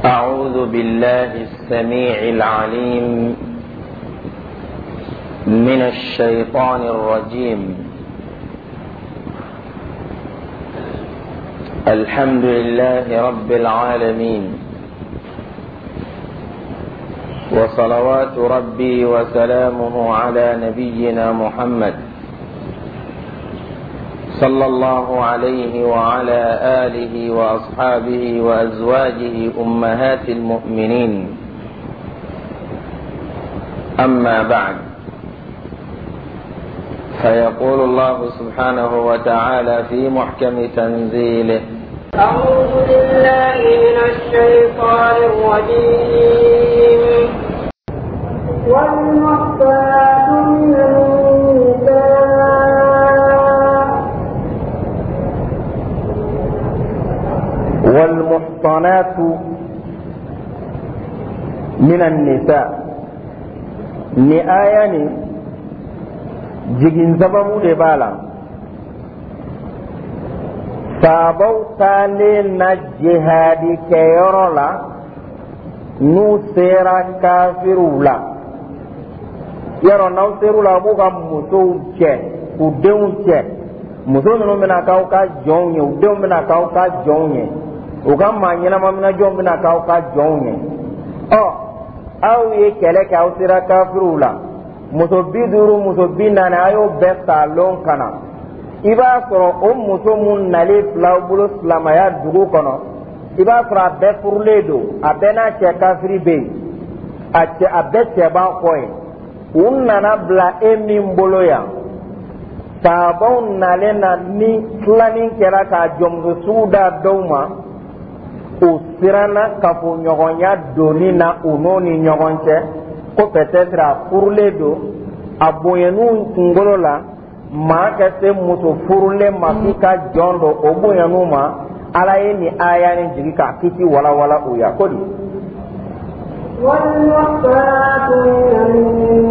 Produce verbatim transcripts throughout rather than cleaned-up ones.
أعوذ بالله السميع العليم من الشيطان الرجيم. الحمد لله رب العالمين، وصلوات ربي وسلامه على نبينا محمد صلى الله عليه وعلى آله وأصحابه وأزواجه أمهات المؤمنين. أما بعد، فيقول الله سبحانه وتعالى في محكم تنزيله: أعوذ بالله من الشيطان الرجيم. والمحصنات من النساء والمحصنات من النساء ni aya ni jigin zabamu de bala sabau tale na jihadi ke yorola nu sera kafirula yaro na serula buga muso che udeun che muso no mena ka ka jonye udeun mena ka ka jonye uga manyina mamina jon mena ka ka jonye o aw ye kele ka usira kafirula muso biduru muso binana ayo besta lon kana iba soro o muso mun nale flawbulo islamaya dugu kono iba soro abe furledo abena che kafiri be ache abe che ba koy unnana bla emi mboloya sabon nale na ni klanin kera ka jomgo suda doma o sirana kafo nyogonya doni na unoni nyogonche ko peut-être a furle do aboyenu ngolo la ma ka se muso furle mafika jondo oboyenu ma ala ni aya ni jigi ka kiti wala wala o ya kodi wal muhsanatu min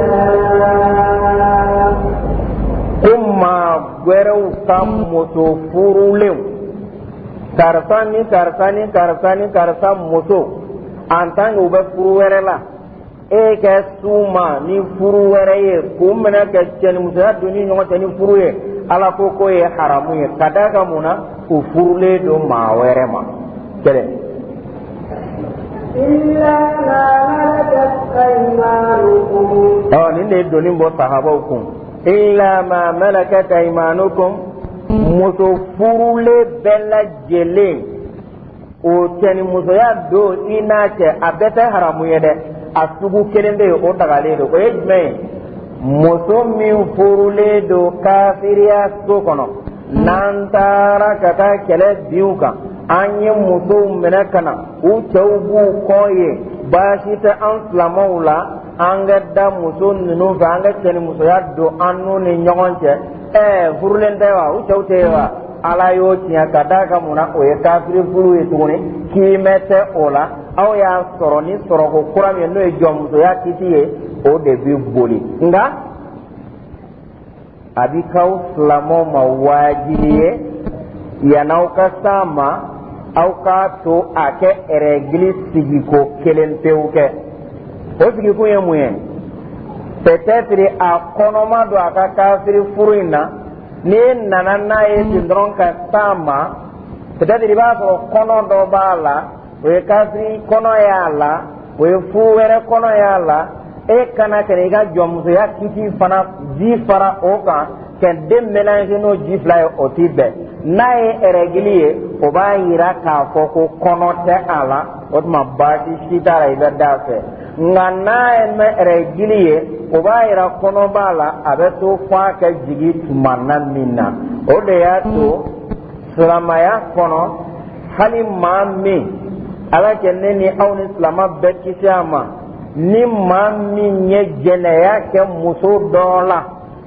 nisaa kuma gwerew kam muso furule karsani karsani karsani karsa muso antan ube furu were la e ke suma ni furu were ye kumena ke cheni muso ya duni nyongo cheni furu ye ala ko ko ye haramu ye kadaka muna ku furule do ma were ma kele illa ma malakat aymanukum oh ni ne doni bo sahaba hukum illa ma malakat aymanukum muso furule bella jele o teni muso ya do ina ce abete haramu yede asugu kelende o dagale do o ejme muso min furule do kafiriya so kono nantara kata kele biuka anye muso menakana u chawbu koye bashita an slamaula anga da muso ninu fa anga teni muso ya do anu ni nyogonche eh furulen dewa u chawtewa ala yo tiya kadaka muna o ye kafiri furu ye tuguni ki mete ola aw ya soro ni soro ko kuram ye no e jomso ya kitiye o de bi boli nga abikaw slamo mawajiye ya nauka sama aw ka to ake regli sigiko kelen peuke o sigiko ye muyen peut-être a konoma do aka kafiri furuina ni nana na ye tindron ka sama peut-être ba so kono do bala o ye kafiri kono ya la o ye fuwere kono ya la e kana kene ga jomso ya kiti fana ji fara o kan ken dem mélange no ji fly o tibe na ye eregliye o ba yira ka foko kono te ala o ma baati sitara ibe dafe ngana me eregliye o ba yira kono bala abeto fa ka jigi tumanna minna o de ya to salamaya kono hali mami ala kenne ni awni islama bekisama ni mami nye jeneya ke muso dola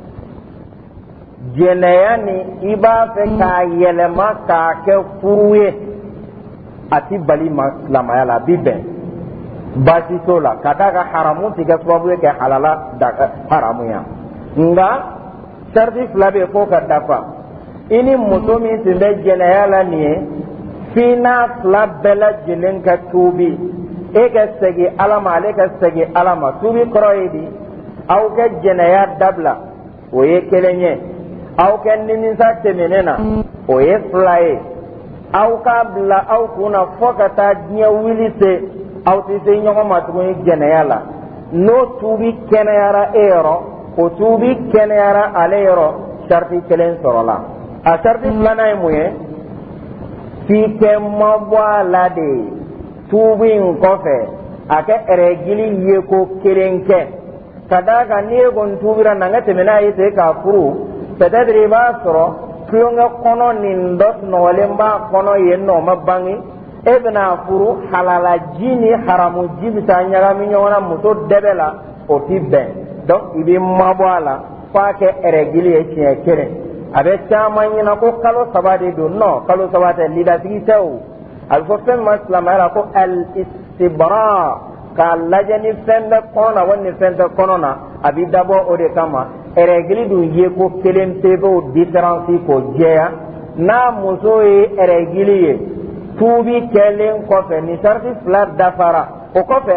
jeneya ni iba fe ka yelema ka ke furuye ati bali islamaya la bibe basi sola kadaka haramu tiga sababu ke halala daga haramu ya nga sharti flabe ko ka dafa ini muso min tun bɛ jɛnɛya la nin ye fina fila bɛɛ lajɛlen ka tuubi e ka segin ala ma ale ka segin ala ma tuubi kɔrɔ ye di aw ka jɛnɛya dabila o ye kelen ye aw ka nimisa tɛmɛnen na o ye fila ye aw k'a bila aw kunna fɔ ka taa diɲɛ wuli se aw tɛ se ɲɔgɔn ma tuguni jɛnɛya la n'o tuubi kɛnɛyara e yɔrɔ o tuubi kɛnɛyara ale yɔrɔ sariti kelen sɔrɔla a sariti filanan ye mun ye f'i kɛ mabɔ a la de tuubi in kɔfɛ a kɛ ɛrɛgili ye ko kelen kɛ ka d'a kan n'i ye kɔni tuubira na n ka tɛmɛ n'a ye ten k'a furu peut-être i b'a sɔrɔ tulonkɛ kɔnɔ nin dɔ sunɔgɔlen b'a kɔnɔ yen nɔ o ma bange e bɛna furu halala ji ni haramu ji bɛ taa ɲagami ɲɔgɔn na muso dɛbɛ la o ti bɛn donc i bɛ mabɔ a la f'a kɛ ɛrɛgili ye siɲɛ kelen a bɛ caman ɲɛna ko kalo saba de don non kalo saba tɛ lidasigi tɛ o a bɛ fɔ fɛn min ma silamɛya la ko al istibra k'a lajɛ ni fɛn bɛ kɔnɔ na wali ni fɛn tɛ kɔnɔ na a bɛ dabɔ o de kama ɛrɛgili dun ye ko kelen pe b'o différence k'o jɛya n'a muso ye ɛrɛgili ye tuubi kɛlen kɔfɛ ni sariti fila dafara o kɔfɛ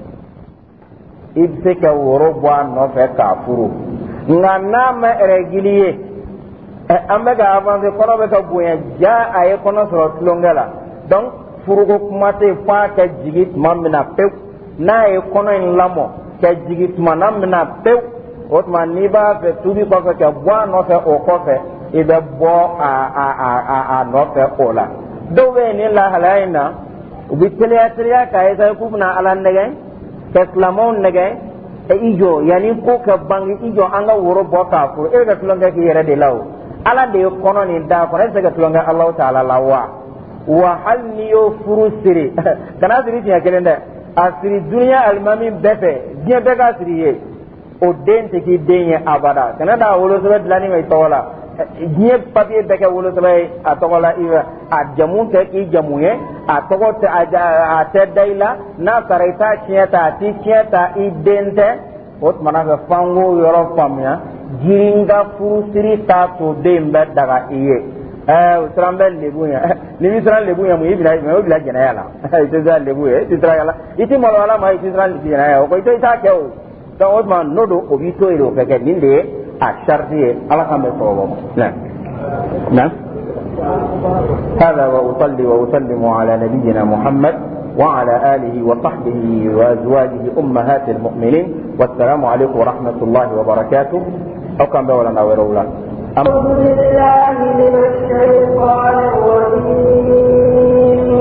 i bɛ se ka woro bɔ a nɔfɛ k'a furu nka n'a ma ɛrɛgili ye an bɛ ka avancer kɔnɔ bɛ ka bonya ja a ye kɔnɔ sɔrɔ tulonkɛ la donc furuko kuma tɛ fɔ a ka jigin tuma min na pewu n'a ye kɔnɔ in lamɔ ka jigin tuma na min na pewu o tuma n'i b'a fɛ tuubi kɔfɛ ka bɔ a nɔfɛ o kɔfɛ i bɛ bɔ a a a a a nɔfɛ o la dɔw bɛ yen nin lahalaya in na u bɛ teliya teliya k'a ye sayi k'u bɛna ala nɛgɛn ka silamɛw nɛgɛn i jɔ yanni ko ka bange i jɔ an ka woro bɔ k'a furu e bɛ ka tulonkɛ k'i yɛrɛ de la o ala de ye kɔnɔ nin da kɔnɔ e bɛ se ka tulonkɛ alahu taala la wa wa hali n'i y'o furu siri kana siri tiɲɛ kelen dɛ a siri duniya alimami bɛɛ fɛ diɲɛ bɛɛ ka siri ye o den tɛ k'i den ye abada kana da wolosɛbɛn dilanni ma i tɔgɔ la diɲɛ papiye bɛɛ kɛ wolosɛbɛn ye a tɔgɔ la a jamu tɛ k'i jamu ye a tɔgɔ tɛ a tɛ da i la n'a sara i t'a tiɲɛ ta a t'i tiɲɛ ta i den tɛ o tumana fɛ f'an k'o yɔrɔ faamuya jiri ka furusiri t'a to den bɛ daga i ye ɛɛ o siran bɛ lebu ye ni bɛ siran lebu ye mun i bila i bila jɛnɛya la i tɛ siran lebu ye i tɛ siran yala i tɛ malo ala ma i tɛ siran jɛnɛya o ko i tɛ i t'a kɛ o donc o tuma n'o don o b'i to yen o kɛ kɛ nin de ye a sariti ye ala k'an bɛ sɔrɔ ma na هذا وأصلي وأسلم على نبينا محمد وعلى آله وصحبه وأزواجه أمهات المؤمنين والسلام عليكم ورحمة الله وبركاته أو كان بولنا ورولا أعوذ بالله من الشيطان الرجيم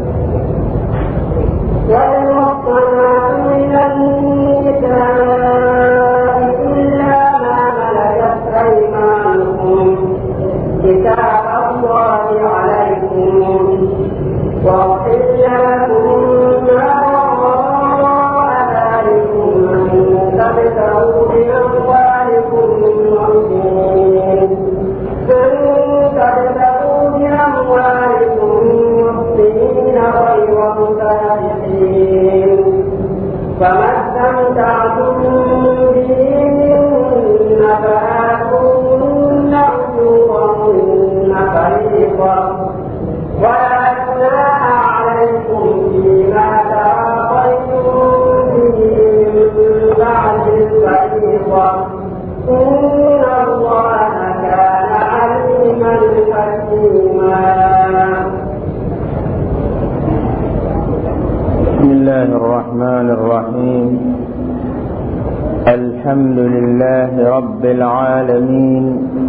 والمحصنات من النساء إلا ما ملكت أيمانكم كتاب الله عليكم وأحل لكم ما وراء ذلكم أن تبتغوا بأموالكم المحصنين أن تبتغوا بأموالكم المحصنين غير مسافحين فما استمتعتم به منهن فآتوهن أجورهن فريضة ولا جناح عليكم فيما تراضيتم به من بعد الفريضة إن الله كان عليما حكيما. بسم الله الرحمن الرحيم الحمد لله رب العالمين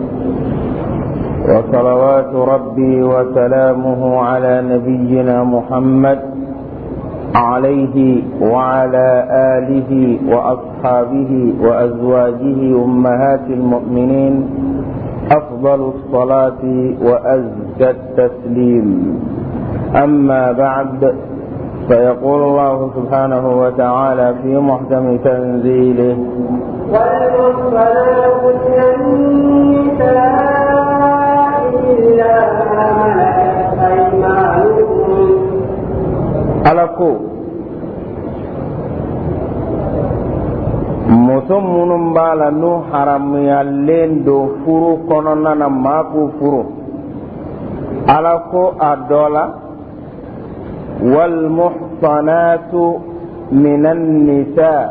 وصلوات ربي وسلامه على نبينا محمد عليه وعلى آله وأصحابه وأزواجه أمهات المؤمنين أفضل الصلاة وأزكى التسليم. أما بعد فيقول الله سبحانه وتعالى في محكم تنزيله والمحصنات من النساء إلا ما ملكت أيمانكم ألكو muso minnu b'a la n'u haramuyalen don furu kɔnɔna na maa k'u furu ala ko a dɔ la والمحصنات من النساء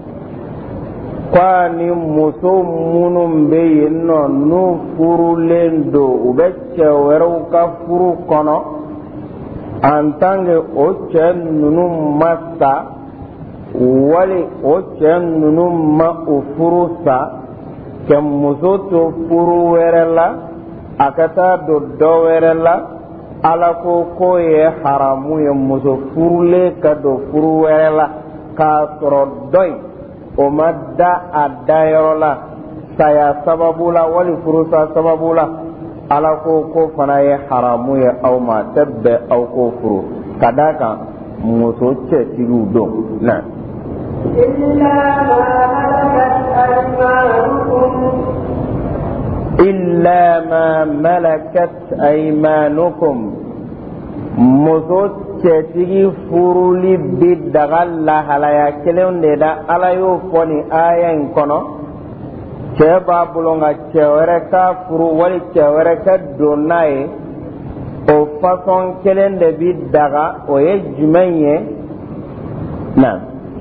kwani muso minnu bɛ yen nɔ n'u furulen don u bɛ cɛ wɛrɛw ka furu kɔnɔ en tant que o cɛ ninnu ma sa wali o cɛ ninnu ma o furu sa ka muso to furu wɛrɛ la a ka taa don dɔ wɛrɛ la ala ko k'o ye haramu ye muso furulen ka don furu wɛrɛ la k'a sɔrɔ dɔ in o ma da a dayɔrɔ la saya sababu la wali furusa sababu la ala ko ko fana ye haramu ye aw ma tɛ bɛn aw ko furu ka d'a kan muso cɛtigiw don na illa ma malakat aymanukum muso cɛtigi furuli bi daga lahalaya kelen de da ala y'o fɔ nin aya in kɔnɔ cɛ b'a bolo nka cɛ wɛrɛ ka furu wali cɛ wɛrɛ ka don n'a ye o fasɔn kelen de bi daga o ye jumɛn ye na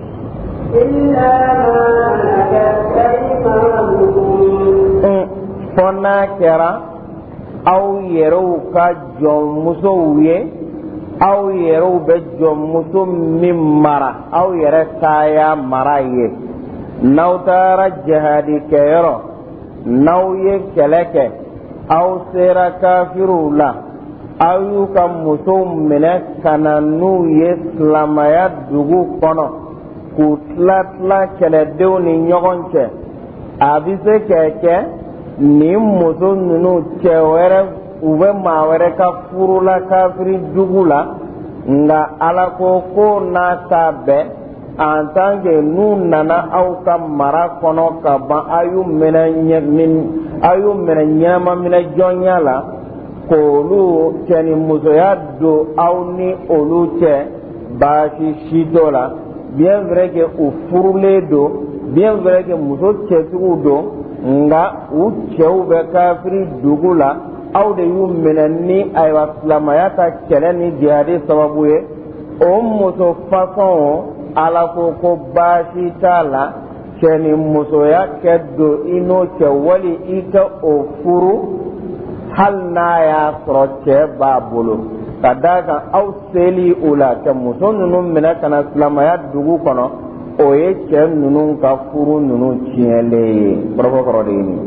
fɔ n'a kɛra aw yɛrɛw ka jɔnmusow ye aw yɛrɛw bɛ jɔnmuso min mara aw yɛrɛ kaya mara ye n'aw taara jihadi kɛyɔrɔ n'aw ye kɛlɛ kɛ aw sera kafiriw la aw y'u ka musow minɛ ka na n'u ye silamaya dugu kɔnɔ k'u tila tila kɛlɛdenw ni ɲɔgɔn cɛ a bɛ se ka kɛ nin muso ninnu cɛ wɛrɛ u bɛ maa wɛrɛ ka furu la kafiri jugu la nka ala ko ko n'a ta bɛɛ en tant que n'u nana aw ka mara kɔnɔ ka ban a y'u minɛ a y'u minɛ ɲɛnama minɛ jɔnya la k'olu cɛ ni musoya don aw ni olu cɛ baasi si t'o la bien vrai que u furulen don bien vrai que muso cɛtigiw don nka u cɛw bɛ kafiri dugu la aw de y'u minɛ ni ayiwa silamaya ka kɛlɛ ni jihadi sababu ye o muso fasɔn ala ko ko baasi t'a la cɛ ni musoya kɛ don i n'o cɛ wali i ka o furu hali n'a y'a sɔrɔ cɛ b'a bolo ka d'a kan aw seli o la ka muso ninnu minɛ ka na silamaya dugu kɔnɔ o ye cɛ ninnu ka furu ninnu tiɲɛlen ye kɔrɔfɔ de ye nin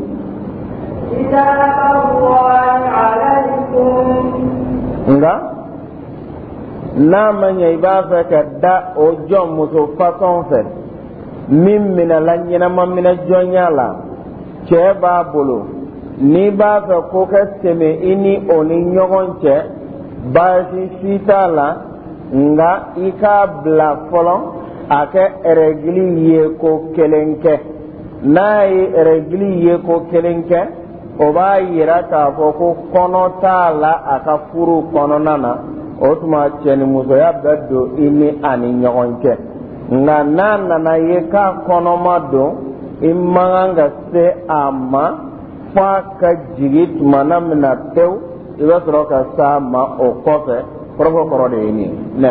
nga n'a ma ɲɛ i b'a fɛ ka da o jɔn muso fasɔn fɛ min minɛla ɲɛnama minɛ jɔnya la cɛ b'a bolo n'i b'a fɛ ko ka tɛmɛ i ni o ni ɲɔgɔn cɛ baasi si t'a la nga i k'a bila fɔlɔ a kɛ règle ye ko kelen kɛ n'a ye règle ye ko kelen kɛ o b'a yira k'a fɔ ko kɔnɔ t'a la a ka furu kɔnɔna na o tuma cɛ ni musoya bɛ don i ni a ni ɲɔgɔn cɛ nka n'a nana ye k'a kɔnɔma don i man kan ka se a ma f'a ka jigin tumana min na pewu i bɛ sɔrɔ ka s'a ma o kɔfɛ kɔrɔfɔ kɔrɔ de ye nin nɛ.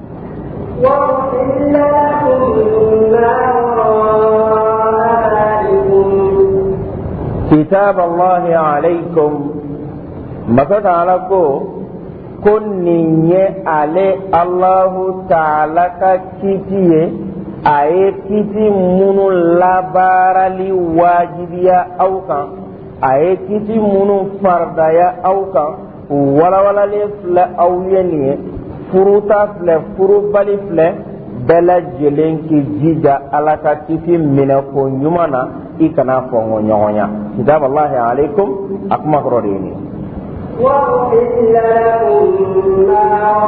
كتاب الله عليكم مسات على كو كنني على الله تعالى كتيه أي كتي من لا بارلي واجبيا أو كان أي كتي من فردايا أو كان ولا ولا لفلا أو يني فروتا فلا فرو بالي فلا بلا جلين كي جيجا على كتي من كو يمانا ikana fongo nyonya kitab Allah alaikum akma qrodini wa illa ma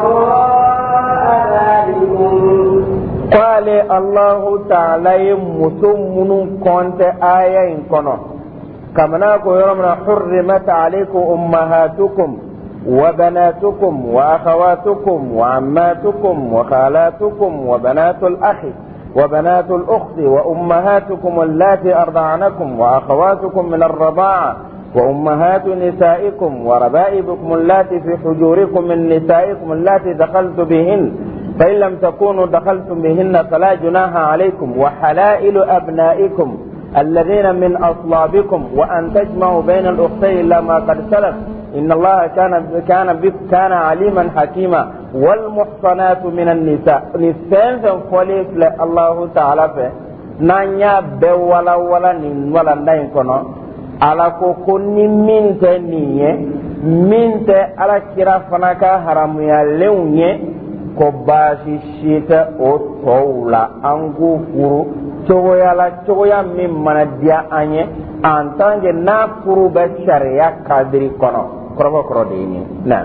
ra'alikum qala Allah ta'ala musumun konte aya in kono kamana ko yoromna hurrimat alaikum ummahatukum wa banatukum wa akhawatukum wa ammatukum wa khalatukum wa banatul akhi وبنات الأخت وأمهاتكم اللاتي أرضعنكم وأخواتكم من الرضاعة وأمهات نسائكم وربائبكم اللاتي في حجوركم من نسائكم اللاتي دخلت بهن فإن لم تكونوا دخلتم بهن فلا جناح عليكم وحلائل أبنائكم الذين من أصلابكم وأن تجمعوا بين الأختين إلا ما قد سلف إن الله كان كان كان عليما حكيما والمحصنات من النساء نسان فوليس الله تعالى في نانيا بولا ولا نين ولا نين كنا على كوني من تنيه من ت على كرا فناكا حرام يالونيه كباشي شيتا أو تولا أنغو فرو cogoya la cogoya min mana diya an ye en tant que n'a furu bɛ sariya kadiri kɔnɔ kɔrɔbɔ kɔrɔ de ye nin na.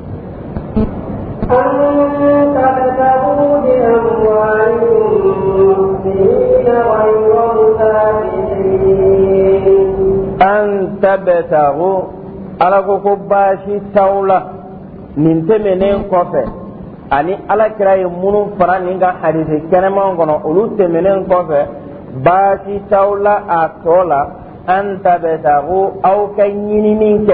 an tabtagu ala ko ko baasi t'aw la nin tɛmɛnen kɔfɛ ani alakira ye minnu fara nin ka hadisi kɛnɛman kɔnɔ olu tɛmɛnen kɔfɛ baasi t'aw la a tɔ la an tabtagu aw ka ɲinini kɛ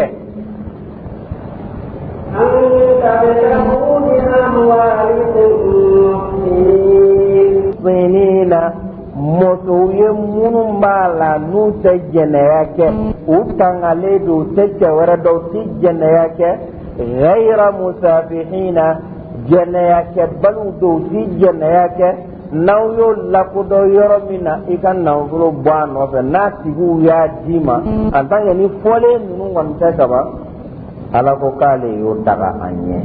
sinina musow ye minnu b'a la n'u tɛ jɛnɛya kɛ u tangalen don u tɛ cɛ wɛrɛ dɔn u tɛ jɛnɛya kɛ ghayra musafihina jɛnɛya kɛ balu don u tɛ jɛnɛya kɛ n'aw y'o lakodɔn yɔrɔ min na i ka nafolo bɔ a nɔfɛ n'a tigiw y'a d'i ma en tant que ni fɔlen ninnu kɔni tɛ kaban ala ko k'ale y'o daga an ɲɛ.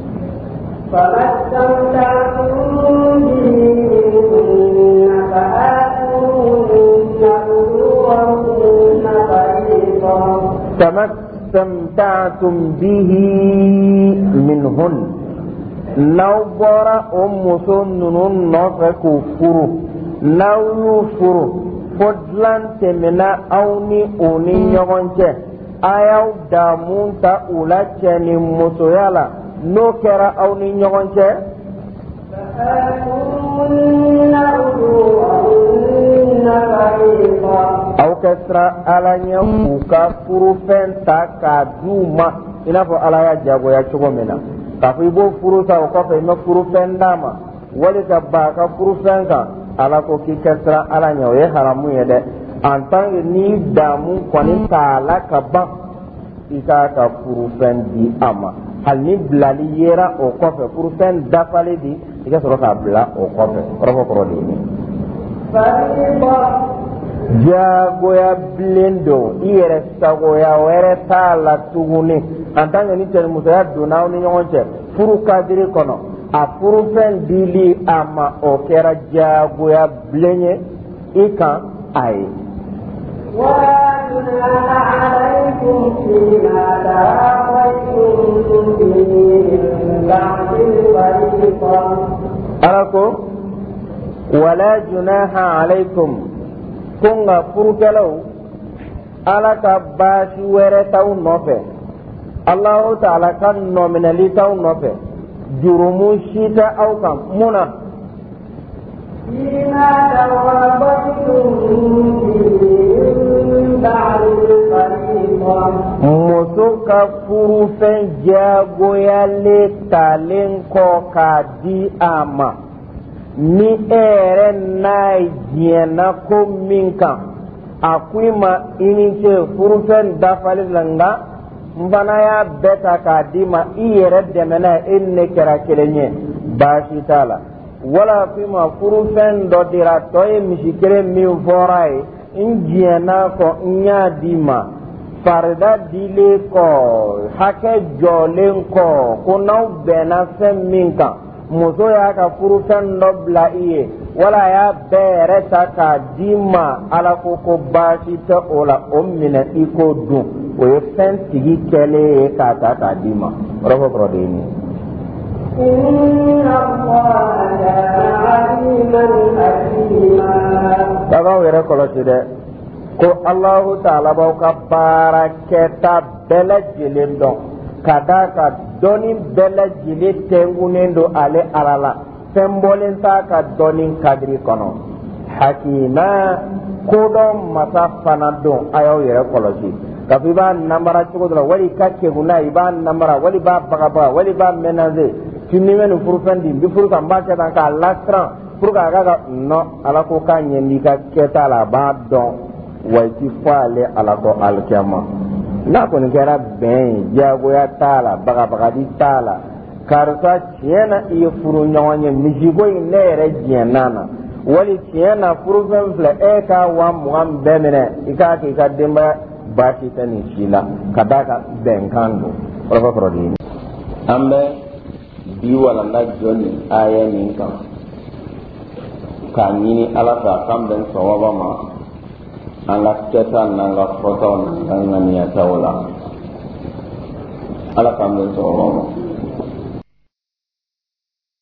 kama istamta'tum bihi minhun n'aw bɔra o muso ninnu nɔfɛ k'u furu n'aw y'u furu fo dilan tɛmɛna aw ni o ni ɲɔgɔn cɛ a y'aw damu ta u la cɛ ni musoya la n'o kɛra aw ni ɲɔgɔn cɛ aw ka siran ala ɲɛ k'u ka furufɛn ta k'a d'u ma i n'a fɔ ala y'a jagoya cogo min na k'a fɔ i b'o furu sa o kɔfɛ i ma furufɛn d'a ma wali ka ba a ka furufɛn kan ala ko k'i ka siran ala ɲɛ o ye haramu ye dɛ en tant que n'i damu kɔni t'a la ka ban i k'a ka furufɛn di a ma hali ni bilali yera o kɔfɛ furufɛn dafalen di i ka sɔrɔ k'a bila o kɔfɛ kɔrɔfɔ kɔrɔ de ye nin jagoya bilen don i yɛrɛ sagoya wɛrɛ t'a la tuguni en tant que ni cɛnimusoya donna aw ni ɲɔgɔn cɛ furu kadiri kɔnɔ a furufɛn dili a ma o kɛra jagoya bilen ye i kan a ye. ولا جناح عليكم فيما تراضيتم به من بعد الفريضة. أراكم ولا جناح عليكم كونغا فرقلو على كباش ورتاو نوفه الله تعالى كان نومنالي تاو نوفه جرمو شيتا أو كم منا فيما تراضيتم muso ka furufɛn jagoyalen talen kɔ k'a di a ma ni e yɛrɛ n'a diɲɛna ko min kan a ko i ma i ni ce furufɛn dafali la nka n fana y'a bɛɛ ta k'a di ma i yɛrɛ dɛmɛna e ni ne kɛra kelen ye baasi t'a la wala ko i ma furufɛn dɔ dira tɔ ye misi kelen min fɔra ye n diɲɛna kɔ n y'a di ma farida dilen kɔ hakɛ jɔlen kɔ ko n'aw bɛnna fɛn min kan muso y'a ka furufɛn dɔ bila i ye wala a y'a bɛɛ yɛrɛ ta k'a di ma ala ko ko baasi tɛ o la o minɛ i k'o dun o ye fɛn tigi kɛlen ye k'a ta k'a di ma kɔrɔfɔ kɔrɔ de ye nin. Bagaw yɛrɛ kɔlɔsi dɛ ko Alahu Taala b'aw ka baara kɛta bɛɛ lajɛlen dɔn ka d'a ka dɔnni bɛɛ lajɛlen tɛnkunnen don ale Ala la fɛn bɔlen t'a ka dɔnni kadiri kɔnɔ Hakima kodɔn masa fana don a y'aw yɛrɛ kɔlɔsi kafi ba nambara cogo dɔ la wali ka keguna i b'a nambara wali b'a bagabaga wali b'a ménager tunni mɛ nin furufɛn di n bi furu kan n b'a kɛ tan k'a lasiran pour que a ka ka non ala ko k'a ɲɛ n'i ka kɛta la a b'a dɔn wa i ti fɔ ale ala kɔ alikiyama n'a kɔni kɛra bɛn ye diyagoya t'a la bagabagadi t'a la karisa tiɲɛ na i ye furu ɲɔgɔn ye misiko in ne yɛrɛ diɲɛna na wali tiɲɛ na furufɛn filɛ e ka wa mugan bɛɛ minɛ i k'a kɛ i ka denbaya baasi tɛ nin si la ka d'a kan bɛnkan don kɔrɔfɔ kɔrɔ de ye. an bɛ bi walanda jɔ nin aya nin kan k'a ɲini ala fɛ a kan bɛn sawaba ma an ka kɛta n'an ka fɔtaw n'an ka ŋaniyataw la ala kan bɛn sawaba ma.